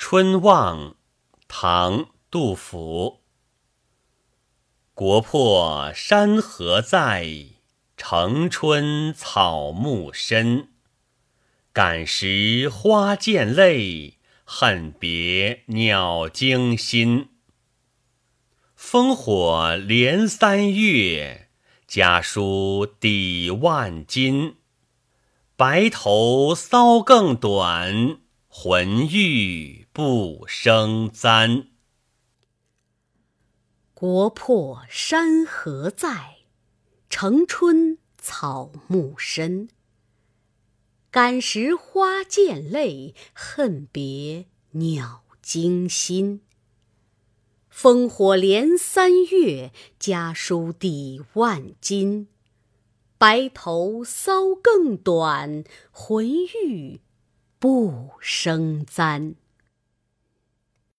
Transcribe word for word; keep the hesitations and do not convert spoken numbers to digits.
春望，唐·杜甫。国破山河在，城春草木深。感时花溅泪，恨别鸟惊心。烽火连三月，家书抵万金。白头搔更短，浑欲不胜簪。 国破山河在，城春草木深。感时花溅泪，恨别鸟惊心。烽火连三月，家书抵万金。白头搔更短，浑欲不胜簪。